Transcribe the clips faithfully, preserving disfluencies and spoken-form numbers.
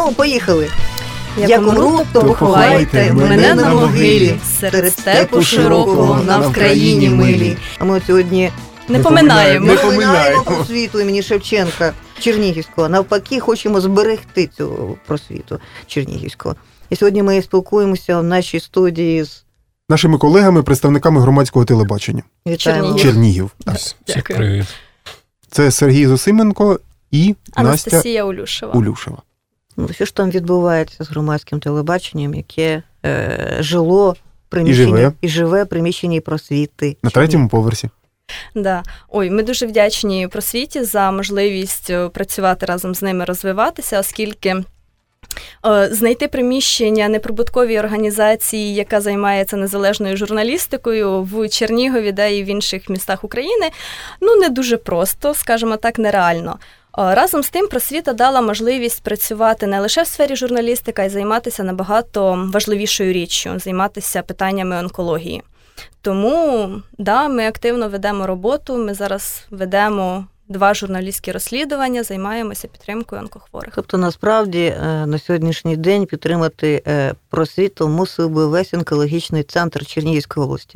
Ну, поїхали. Як, Як умру, то поховайте мене на могилі, серед степу широкого на Вкраїні милі. А ми сьогодні не поминаємо. Не поминаємо просвіту імені Шевченка Чернігівського. Навпаки, хочемо зберегти цю просвіту Чернігівського. І сьогодні ми спілкуємося в нашій студії з нашими колегами, представниками громадського телебачення. Вітаємо. Чернігів. Так. Всіх привіт. Це Сергій Зосименко і Анастасія Настя Улюшева. Улюшева. Ну, що ж там відбувається з громадським телебаченням, яке е, жило приміщенні, і живе. і живе приміщенні просвіти. На третьому поверсі. Да. Ой, ми дуже вдячні просвіті за можливість працювати разом з ними, розвиватися, оскільки знайти приміщення неприбутковій організації, яка займається незалежною журналістикою в Чернігові, да і в інших містах України, ну не дуже просто, скажімо так, нереально. Разом з тим просвіта дала можливість працювати не лише в сфері журналістики, а й займатися набагато важливішою річчю, займатися питаннями онкології. Тому, да, ми активно ведемо роботу, ми зараз ведемо два журналістські розслідування, займаємося підтримкою онкохворих. Тобто, насправді, на сьогоднішній день підтримати просвіту мусив би весь онкологічний центр Чернігівської області.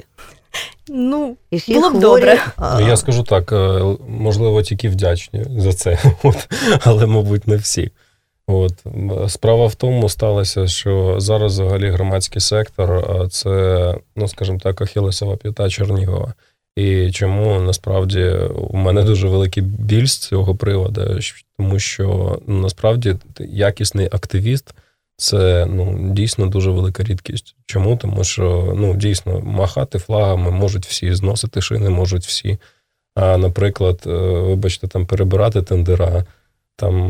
Ну, було б добре. А... Я скажу так, можливо, тільки вдячні за це, от, але, мабуть, не всі. От. Справа в тому сталося, що зараз взагалі громадський сектор – це, ну, скажімо так, ахілесова п'ята Чернігова. І чому, насправді, у мене дуже великий біль з цього приводу, тому що, ну, насправді, якісний активіст – це, ну, дійсно дуже велика рідкість. Чому? Тому що, ну, дійсно, махати флагами можуть всі, зносити шини можуть всі. А, наприклад, вибачте, там, перебирати тендера, там,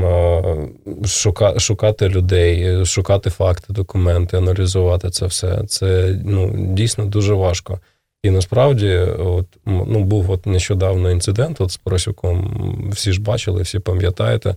шука, шукати людей, шукати факти, документи, аналізувати це все. Це, ну, дійсно дуже важко. І насправді, от, ну, був от нещодавно інцидент от з Поросюком, всі ж бачили, всі пам'ятаєте.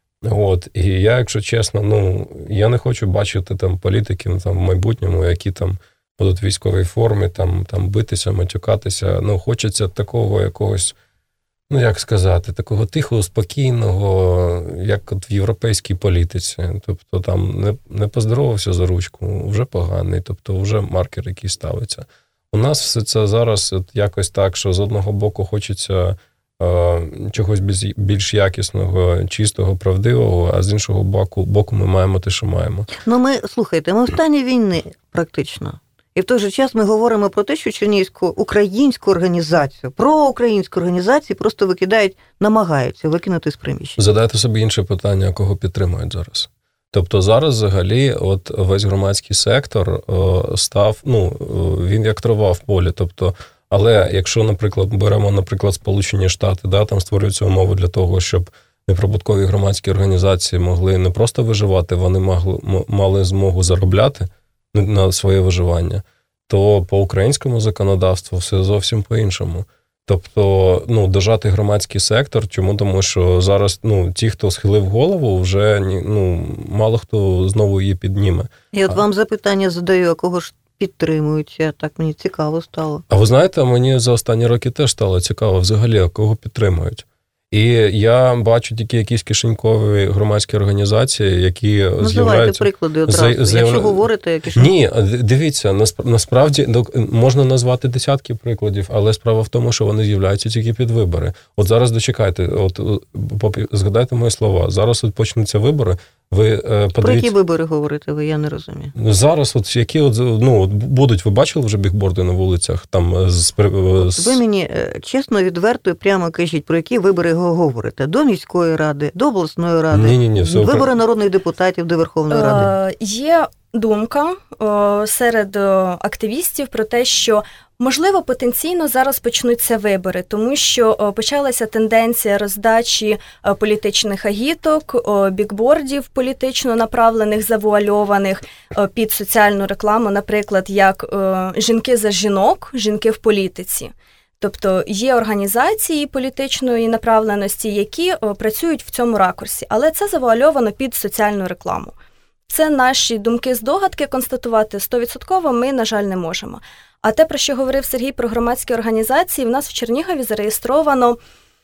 От, і я, якщо чесно, ну, я не хочу бачити там політиків там, в майбутньому, які там будуть в військовій формі, там, там битися, матюкатися. Ну, хочеться такого якогось, ну, як сказати, такого тихого, спокійного, як от в європейській політиці. Тобто там не, не поздоровався за ручку, вже поганий, тобто вже маркер якийсь ставиться. У нас все це зараз от якось так, що з одного боку хочеться е, чогось більш, більш якісного, чистого, правдивого, а з іншого боку, боку ми маємо те, що маємо. Ну, ми, слухайте, ми в стані війни практично. І в той же час ми говоримо про те, що Чернігівську українську організацію, проукраїнську організацію просто викидають, намагаються викинути з приміщення. Задайте собі інше питання, кого підтримують зараз. Тобто зараз взагалі от весь громадський сектор о, став, ну, він як трава в полі. Тобто, але якщо, наприклад, беремо, наприклад, Сполучені Штати, да, там створюються умови для того, щоб неприбуткові громадські організації могли не просто виживати, вони могли, мали змогу заробляти на своє виживання, то по українському законодавству все зовсім по-іншому. Тобто, ну, дожати громадський сектор, чому? Тому що зараз, ну, ті, хто схилив голову, вже, ну, мало хто знову її підніме. І от вам запитання задаю, а кого ж підтримують? Так мені цікаво стало. А ви знаєте, мені за останні роки теж стало цікаво взагалі, а кого підтримують. І я бачу тільки якісь кишенькові громадські організації, які Називайте з'являються... приклади одразу. Заяв... Якщо говорите, я кишенькові. Ні, дивіться, насправді можна назвати десятки прикладів, але справа в тому, що вони з'являються тільки під вибори. От зараз дочекайте, от згадайте мої слова, зараз от почнуться вибори, ви подивіться... Про які вибори говорите ви, я не розумію. Зараз от які от, ну, будуть, ви бачили вже бігборди на вулицях? Там з... Ви мені чесно, відверто і прямо кажіть, про які вибори говорите? До міської ради, до обласної ради, ні, ні, ні, все вибори окрем... народних депутатів до Верховної Ради? Е, є думка е, серед активістів про те, що можливо, потенційно зараз почнуться вибори, тому що почалася тенденція роздачі політичних агіток, бікбордів політично направлених, завуальованих під соціальну рекламу, наприклад, як «Жінки за жінок», «Жінки в політиці». Тобто є організації політичної направленості, які працюють в цьому ракурсі, але це завуальовано під соціальну рекламу. Це наші думки-здогадки, констатувати сто відсотків ми, на жаль, не можемо. А те, про що говорив Сергій про громадські організації, в нас в Чернігові зареєстровано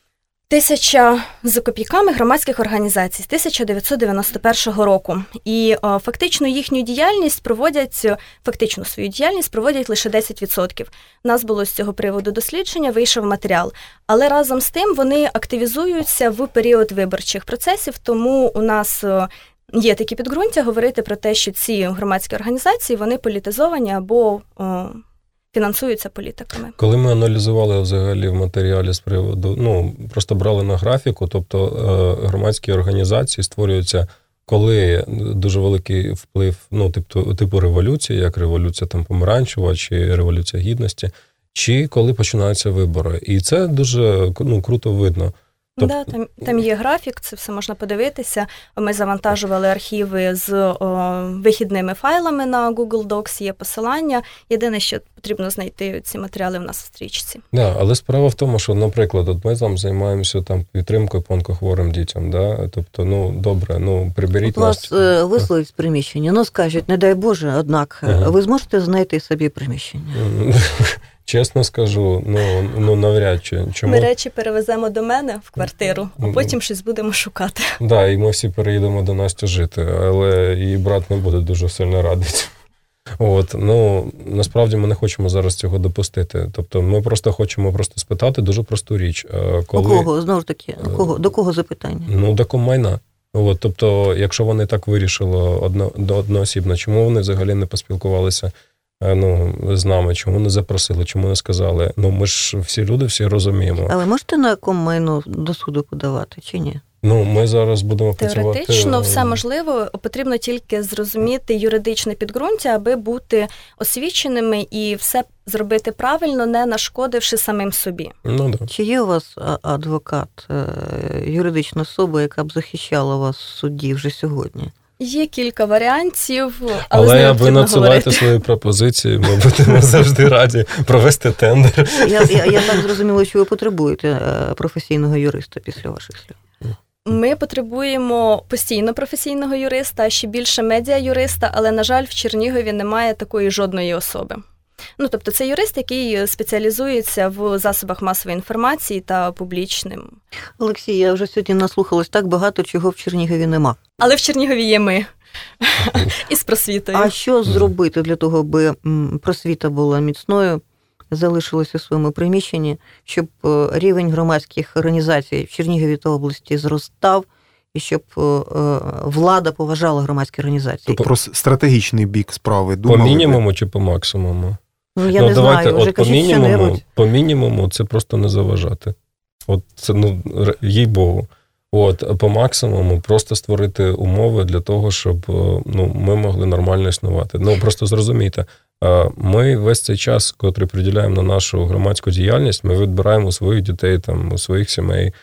Тисяча з копійками громадських організацій з тисяча дев'ятсот дев'яносто першого року. І о, фактично їхню діяльність проводять, фактично свою діяльність проводять лише десять відсотків. У нас було з цього приводу дослідження, вийшов матеріал. Але разом з тим вони активізуються в період виборчих процесів, тому у нас о, є такі підґрунтя говорити про те, що ці громадські організації, вони політизовані або о, фінансуються політиками. Коли ми аналізували взагалі в матеріалі з приводу, ну, просто брали на графіку, тобто е, громадські організації створюються, коли дуже великий вплив, ну, типу, типу революції, як революція там помаранчева чи революція гідності, чи коли починаються вибори. І це дуже, ну, круто видно. Тобто... Да, там, там є графік, це все можна подивитися. Ми завантажували архіви з о, вихідними файлами на Google Docs, є посилання. Єдине, що потрібно знайти ці матеріали в нас в стрічці. Да, але справа в тому, що, наприклад, от ми там займаємося там підтримкою по онкохворим дітям, да? Тобто, ну, добре, ну, приберіть от нас. Вас е, висловить з приміщення, ну, скажуть, не дай Боже, однак, ага. ви зможете знайти собі приміщення? Чесно скажу, ну, ну навряд чи. Чому? Ми речі перевеземо до мене в квартиру, а потім щось будемо шукати. Так, да, і ми всі переїдемо до Насті жити, але її брат не буде дуже сильно радий. От, ну, насправді ми не хочемо зараз цього допустити. Тобто ми просто хочемо просто спитати дуже просту річ. Коли... У кого? Знову ж таки, у кого? До кого запитання? Ну, до комайна. От, тобто, якщо вони так вирішили одно, до одноосібно, чому вони взагалі не поспілкувалися ну, з нами, чому не запросили, чому не сказали? Ну, ми ж всі люди, всі розуміємо. Але можете на комайну до суду подавати, чи ні? Ну, ми зараз будемо працювати... Теоретично все можливо, потрібно тільки зрозуміти юридичне підґрунтя, аби бути освіченими і все зробити правильно, не нашкодивши самим собі. Ну, да. Чи є у вас адвокат, юридична особа, яка б захищала вас в суді вже сьогодні? Є кілька варіантів, але, але але ви надсилайте свої пропозиції, ми будемо завжди раді провести тендер. Я, я, я так зрозуміла, що ви потребуєте професійного юриста після ваших слів. Ми потребуємо постійно професійного юриста, а ще більше медіа-юриста, але, на жаль, в Чернігові немає такої жодної особи. Ну, тобто це юрист, який спеціалізується в засобах масової інформації та публічним. Олексій, я вже сьогодні наслухалась так багато, чого в Чернігові нема. Але в Чернігові є ми. І з просвітою. А що зробити для того, аби просвіта була міцною, залишилося у своєму приміщенні, щоб рівень громадських організацій в Чернігові та області зростав, і щоб влада поважала громадські організації? Тобто про стратегічний бік справи думали? По мінімуму чи по максимуму? Ну, я ну, не давайте, знаю, вже от по кажіть мінімуму, що-небудь. по мінімуму це просто не заважати. От це, ну, їй-богу. От, по максимуму просто створити умови для того, щоб ну, ми могли нормально існувати. Ну, просто зрозумійте, ми весь цей час, котрий приділяємо на нашу громадську діяльність, ми відбираємо у своїх дітей, там, у своїх сімей,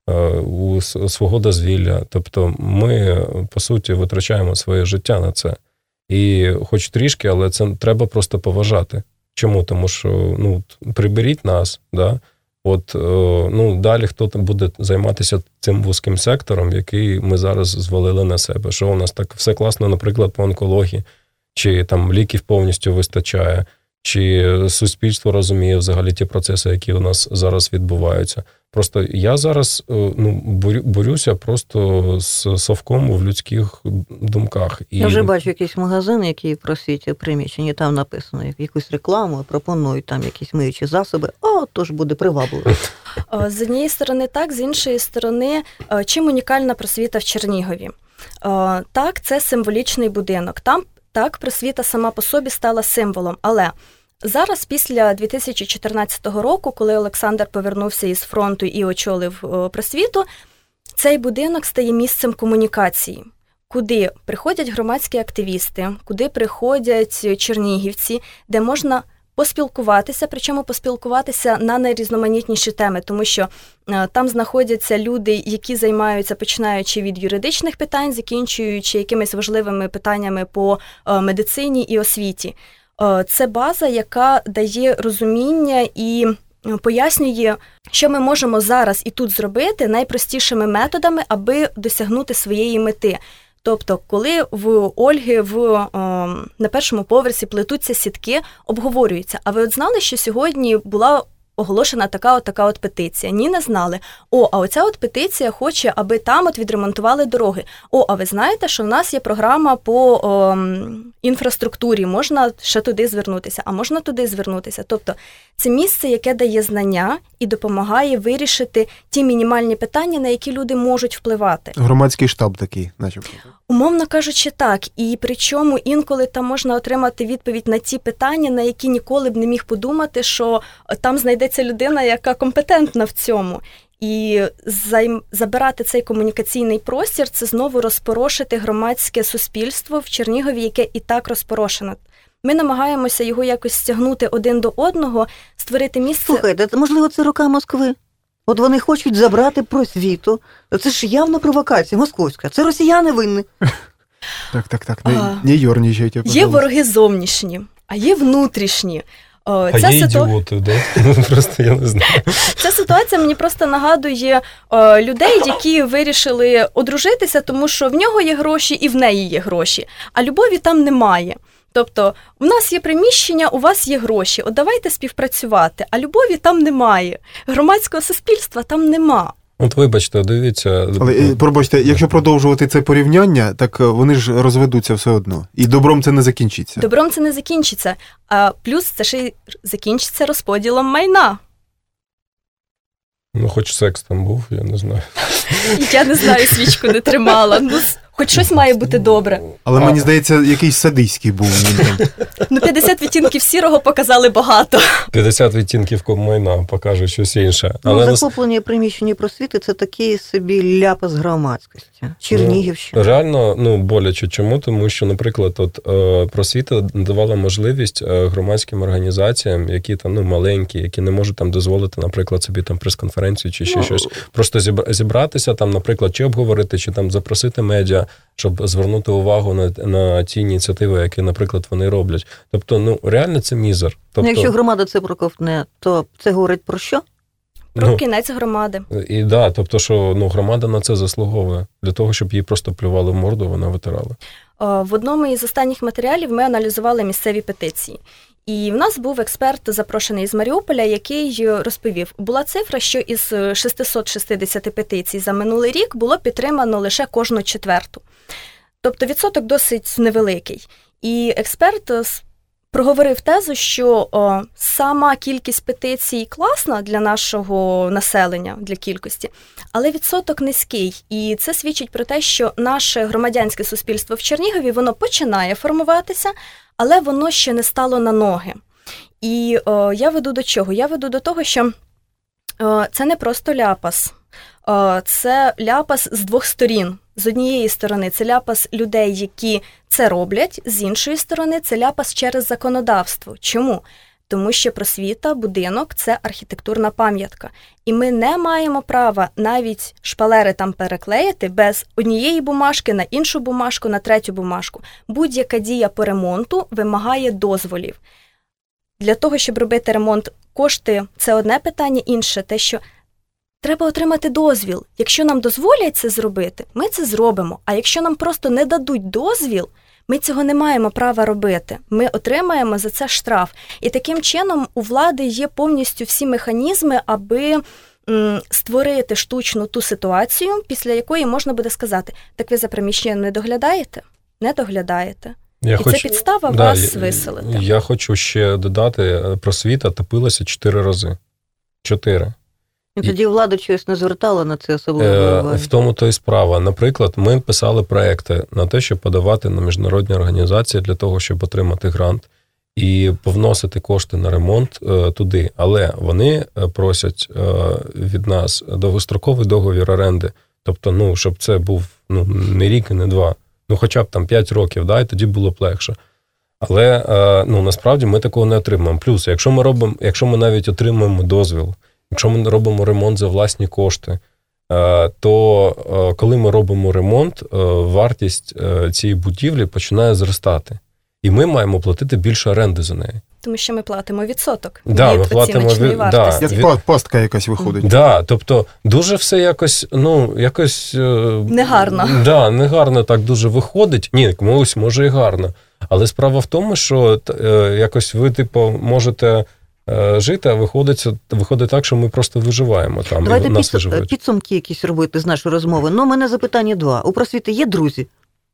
у свого дозвілля. Тобто ми, по суті, витрачаємо своє життя на це. І хоч трішки, але це треба просто поважати. Чому? Тому що, ну, приберіть нас, да? От, ну, далі хто там буде займатися цим вузьким сектором, який ми зараз звалили на себе. Що у нас так все класно, наприклад, по онкології, чи там ліків повністю вистачає, чи суспільство розуміє взагалі ті процеси, які у нас зараз відбуваються. Просто я зараз ну, борюся просто з совком в людських думках. І... Я вже бачу якийсь магазин, який просить приміщення, там написано якусь рекламу, пропонують там якісь миючі засоби, а тож буде привабливо. З однієї сторони так, з іншої сторони, чим унікальна просвіта в Чернігові? Так, це символічний будинок. Там так, просвіта сама по собі стала символом, але зараз, після дві тисячі чотирнадцятого року, коли Олександр повернувся із фронту і очолив просвіту, цей будинок стає місцем комунікації, куди приходять громадські активісти, куди приходять чернігівці, де можна поспілкуватися, причому поспілкуватися на найрізноманітніші теми, тому що е, там знаходяться люди, які займаються, починаючи від юридичних питань, закінчуючи якимись важливими питаннями по е, медицині і освіті. Е, це база, яка дає розуміння і пояснює, що ми можемо зараз і тут зробити найпростішими методами, аби досягнути своєї мети. Тобто, коли в Ольги в, о, на першому поверсі плетуться сітки, обговорюється. А ви от знали, що сьогодні була оголошена така от така от петиція. Ні, не знали. О, а оця от петиція хоче, аби там от відремонтували дороги. О, а ви знаєте, що в нас є програма по о, інфраструктурі, можна ще туди звернутися, а можна туди звернутися. Тобто це місце, яке дає знання і допомагає вирішити ті мінімальні питання, на які люди можуть впливати. Громадський штаб такий, начебто. Умовно кажучи, так. І причому інколи там можна отримати відповідь на ті питання, на які ніколи б не міг подумати, що там знайдеться людина, яка компетентна в цьому. І займ... забирати цей комунікаційний простір – це знову розпорошити громадське суспільство в Чернігові, яке і так розпорошено. Ми намагаємося його якось стягнути один до одного, створити місце... Слухайте, можливо, це рука Москви? От вони хочуть забрати просвіту. Це ж явна провокація московська. Це росіяни винні. Так, так, так. Не, не ерничайте, пожалуйста. Є вороги зовнішні, а є внутрішні. А Ця є ситу... ідіоти, да? Просто я не знаю. Ця ситуація мені просто нагадує о, людей, які вирішили одружитися, тому що в нього є гроші і в неї є гроші, а любові там немає. Тобто, у нас є приміщення, у вас є гроші, от давайте співпрацювати, а любові там немає, громадського суспільства там нема. От вибачте, дивіться... Але, пробачте, якщо продовжувати це порівняння, так вони ж розведуться все одно. І добром це не закінчиться. Добром це не закінчиться, а плюс це ще й закінчиться розподілом майна. Ну, хоч секс там був, я не знаю. Я не знаю, свічку не тримала. Ну, хоч щось має бути добре. Але, мені здається, якийсь садиський був. Ну, п'ятдесят відтінків сірого показали багато. п'ятдесят відтінків майна покаже щось інше. Але ну, захоплення приміщення просвіти – це такий собі ляпас громадськості. Чернігівщина. Ну, реально, ну, боляче. Чому? Тому що, наприклад, от просвіта давала можливість громадським організаціям, які там, ну, маленькі, які не можуть там дозволити, наприклад, собі там прес-конференцію чи ще ну, щось, просто зібратися там, наприклад, чи обговорити, чи там запросити медіа, щоб звернути увагу на, на ті ініціативи, які, наприклад, вони роблять. Тобто, ну, реально це мізер. Тобто, якщо громада це проковтне, то це говорить про що? Про ну, кінець громади. І да, тобто, що ну, громада на це заслуговує. Для того, щоб їй просто плювали в морду, вона витирала. В одному із останніх матеріалів ми аналізували місцеві петиції. І в нас був експерт, запрошений з Маріуполя, який розповів, була цифра, що із шістсот шістдесят петицій за минулий рік було підтримано лише кожну четверту. Тобто відсоток досить невеликий. І експерт проговорив тезу, що о, сама кількість петицій класна для нашого населення, для кількості, але відсоток низький. І це свідчить про те, що наше громадянське суспільство в Чернігові, воно починає формуватися, але воно ще не стало на ноги. І о, я веду до чого? Я веду до того, що о, це не просто ляпас. О, це ляпас з двох сторін. З однієї сторони це ляпас людей, які це роблять, з іншої сторони це ляпас через законодавство. Чому? Тому що просвіта, будинок – це архітектурна пам'ятка. І ми не маємо права навіть шпалери там переклеїти без однієї бумажки на іншу бумажку, на третю бумажку. Будь-яка дія по ремонту вимагає дозволів. Для того, щоб робити ремонт, кошти – це одне питання, інше – те, що треба отримати дозвіл. Якщо нам дозволять це зробити, ми це зробимо. А якщо нам просто не дадуть дозвіл, ми цього не маємо права робити. Ми отримаємо за це штраф. І таким чином у влади є повністю всі механізми, аби м, створити штучну ту ситуацію, після якої можна буде сказати, так ви за приміщенням не доглядаєте? Не доглядаєте. Я І хочу, це підстава да, вас я, виселити. Я хочу ще додати, просвіта топилася чотири рази. Чотири. І тоді влада щось не звертала на це особливо уваги. В тому то і справа. Наприклад, ми писали проекти на те, щоб подавати на міжнародні організації для того, щоб отримати грант і повносити кошти на ремонт е, туди. Але вони просять е, від нас довгостроковий договір оренди. Тобто, ну, щоб це був ну, не рік і не два. Ну, хоча б там п'ять років, да, і тоді було б легше. Але е, ну, насправді ми такого не отримаємо. Плюс, якщо ми робимо, якщо ми навіть отримаємо дозвіл, якщо ми робимо ремонт за власні кошти, то коли ми робимо ремонт, вартість цієї будівлі починає зростати. І ми маємо платити більше оренди за неї. Тому що ми платимо відсоток да, від ми платимо оціночної від, вартості. Да, як пастка якась виходить. Да, тобто дуже все якось, ну, якось... Негарно. Да, негарно так дуже виходить. Ні, комусь може і гарно. Але справа в тому, що якось ви, типу, можете жити, а виходить, виходить так, що ми просто виживаємо там. Давайте і нас підсум, підсумки якісь робити з нашої розмови. Ну, у мене запитання два. У просвіти є друзі?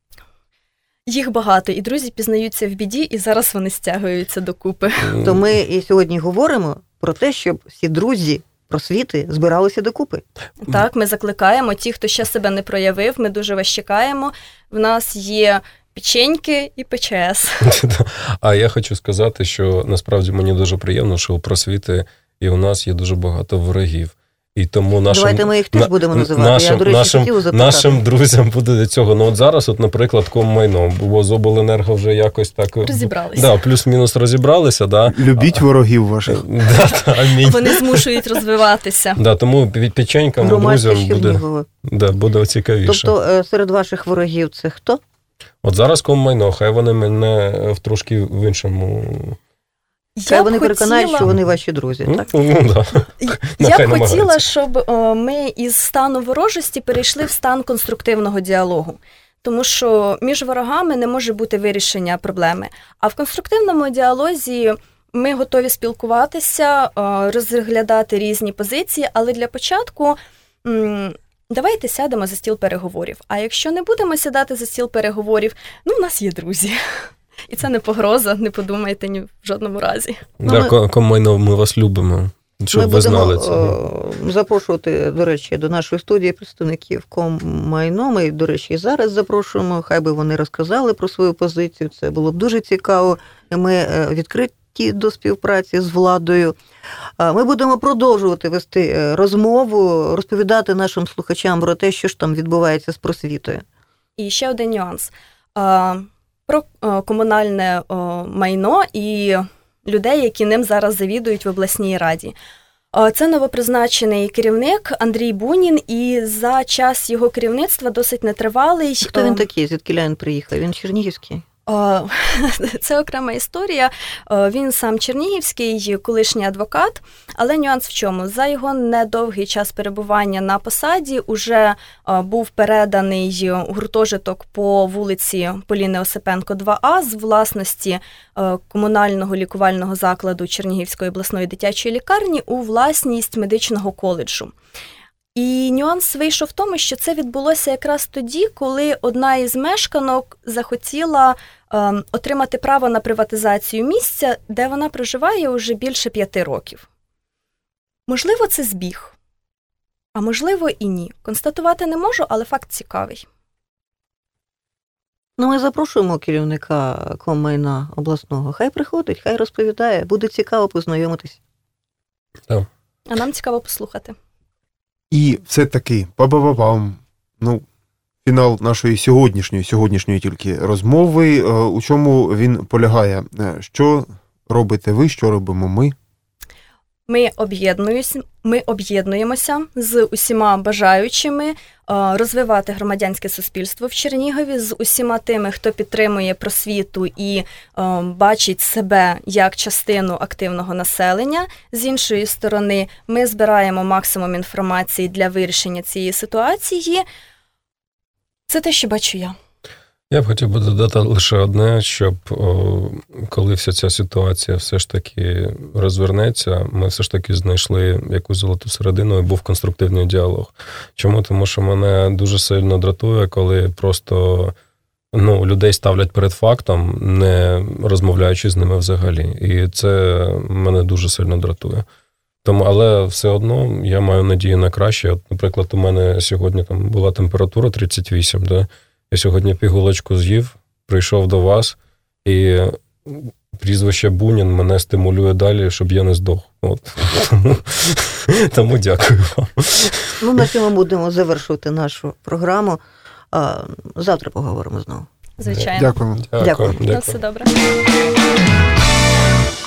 Їх багато, і друзі пізнаються в біді, і зараз вони стягуються докупи. То ми і сьогодні говоримо про те, щоб всі друзі просвіти збиралися докупи. Так, ми закликаємо. Ті, хто ще себе не проявив, ми дуже вас чекаємо. В нас є печеньки і ПЧС. А я хочу сказати, що насправді мені дуже приємно, що у просвіти і у нас є дуже багато ворогів. І тому нашим, Давайте ми їх теж на, будемо називати. Нашим, Я, до речі, нашим, хотіла запитати. нашим друзям буде до цього. Ну от зараз, от, наприклад, Коммайно, бо з обленерго вже якось так... Розібралися. Да, плюс-мінус розібралися. Да. Любіть ворогів ваших. Да, да, амінь. Вони змушують розвиватися. Да, тому під печенькам друзям буде, да, буде цікавіше. Тобто серед ваших ворогів це хто? От зараз Коммайно, хай вони мене в трошки в іншому... Хай вони хотіла... переконають, що вони ваші друзі, ну, так? Ну, да. Я б хотіла, щоб о, ми із стану ворожості перейшли в стан конструктивного діалогу. Тому що між ворогами не може бути вирішення проблеми. А в конструктивному діалозі ми готові спілкуватися, розглядати різні позиції, але для початку м- давайте сядемо за стіл переговорів. А якщо не будемо сідати за стіл переговорів, ну, в нас є друзі. І це не погроза, не подумайте ні в жодному разі. Да, ми... Коммайно, ми вас любимо, щоб ми ви знали це. Ми будемо запрошувати, до речі, до нашої студії представників Коммайно. Ми, до речі, і зараз запрошуємо, хай би вони розказали про свою позицію. Це було б дуже цікаво. Ми відкриті до співпраці з владою. Ми будемо продовжувати вести розмову, розповідати нашим слухачам про те, що ж там відбувається з просвітою. І ще один нюанс. Про комунальне майно і людей, які ним зараз завідують в обласній раді. Це новопризначений керівник Андрій Бунін, і за час його керівництва досить нетривалий. Хто він такий? Звідкіля він приїхав? Він чернігівський? Це окрема історія. Він сам чернігівський, колишній адвокат, але нюанс в чому? За його недовгий час перебування на посаді уже був переданий гуртожиток по вулиці Поліни Осипенко, два А з власності комунального лікувального закладу Чернігівської обласної дитячої лікарні у власність медичного коледжу. І нюанс вийшов в тому, що це відбулося якраз тоді, коли одна із мешканок захотіла е, отримати право на приватизацію місця, де вона проживає уже більше п'яти років. Можливо, це збіг, а можливо і ні. Констатувати не можу, але факт цікавий. Ну, ми запрошуємо керівника Коммайна обласного. Хай приходить, хай розповідає. Буде цікаво познайомитись. Так. А нам цікаво послухати. І все-таки, па-ба-ба-бам, ну, фінал нашої сьогоднішньої, сьогоднішньої тільки розмови, у чому він полягає? Що робите ви, що робимо ми? Ми об'єднуємося, ми об'єднуємося з усіма бажаючими розвивати громадянське суспільство в Чернігові, з усіма тими, хто підтримує просвіту і бачить себе як частину активного населення. З іншої сторони, ми збираємо максимум інформації для вирішення цієї ситуації. Це те, що бачу я. Я б хотів би додати лише одне, щоб о, коли вся ця ситуація все ж таки розвернеться, ми все ж таки знайшли якусь золоту середину і був конструктивний діалог. Чому? Тому що мене дуже сильно дратує, коли просто ну, людей ставлять перед фактом, не розмовляючи з ними взагалі. І це мене дуже сильно дратує. Тому, але все одно я маю надію на краще. От, наприклад, у мене сьогодні там була температура тридцять вісім, да? Я сьогодні пігулочку з'їв, прийшов до вас, і прізвище Бунін мене стимулює далі, щоб я не здох. От. Тому, тому дякую вам. Ну, на цьому будемо завершувати нашу програму. Завтра поговоримо знову. Звичайно. Дякуємо. Дякую. На все добре.